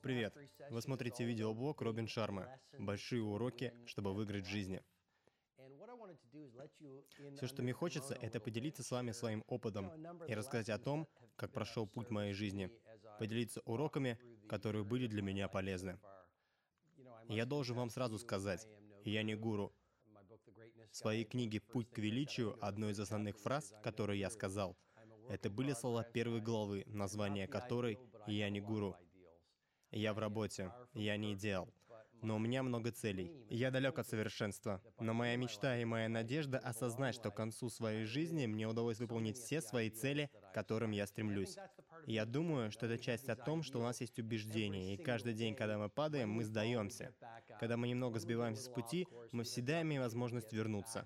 Привет! Вы смотрите видеоблог Робин Шармы «Большие уроки, чтобы выиграть в жизни». Все, что мне хочется, это поделиться с вами своим опытом и рассказать о том, как прошел путь моей жизни, поделиться уроками, которые были для меня полезны. И я должен вам сразу сказать, я не гуру. В своей книге «Путь к величию» одной из основных фраз, которые я сказал, это были слова первой главы, название которой «Я не гуру». Я в работе, я не идеал. Но у меня много целей. Я далек от совершенства. Но моя мечта и моя надежда осознать, что к концу своей жизни мне удалось выполнить все свои цели, к которым я стремлюсь. И я думаю, что это часть о том, что у нас есть убеждения, и каждый день, когда мы падаем, мы сдаемся. Когда мы немного сбиваемся с пути, мы всегда имеем возможность вернуться.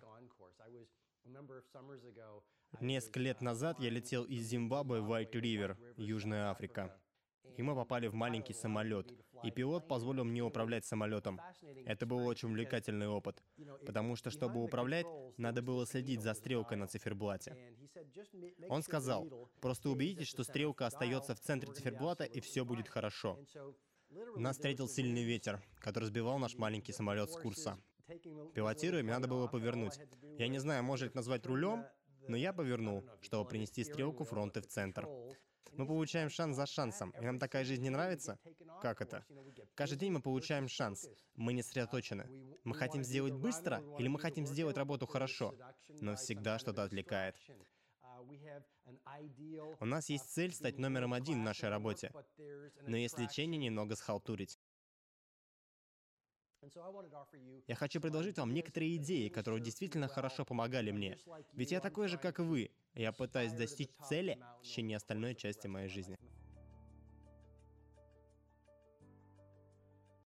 Несколько лет назад я летел из Зимбабве в Уайт-Ривер, Южная Африка. И мы попали в маленький самолет, и пилот позволил мне управлять самолетом. Это был очень увлекательный опыт, потому что, чтобы управлять, надо было следить за стрелкой на циферблате. Он сказал, просто убедитесь, что стрелка остается в центре циферблата, и все будет хорошо. Нас встретил сильный ветер, который сбивал наш маленький самолет с курса. Пилотируя, мне надо было повернуть. Я не знаю, можно ли это назвать рулем, но я повернул, чтобы принести стрелку фронта в центр. Мы получаем шанс за шансом, и нам такая жизнь не нравится? Как это? Каждый день мы получаем шанс. Мы не сосредоточены. Мы хотим сделать быстро, или мы хотим сделать работу хорошо? Но всегда что-то отвлекает. У нас есть цель стать номером один в нашей работе, но есть лечение немного схалтурить. Я хочу предложить вам некоторые идеи, которые действительно хорошо помогали мне. Ведь я такой же, как и вы. Я пытаюсь достичь цели в течение остальной части моей жизни.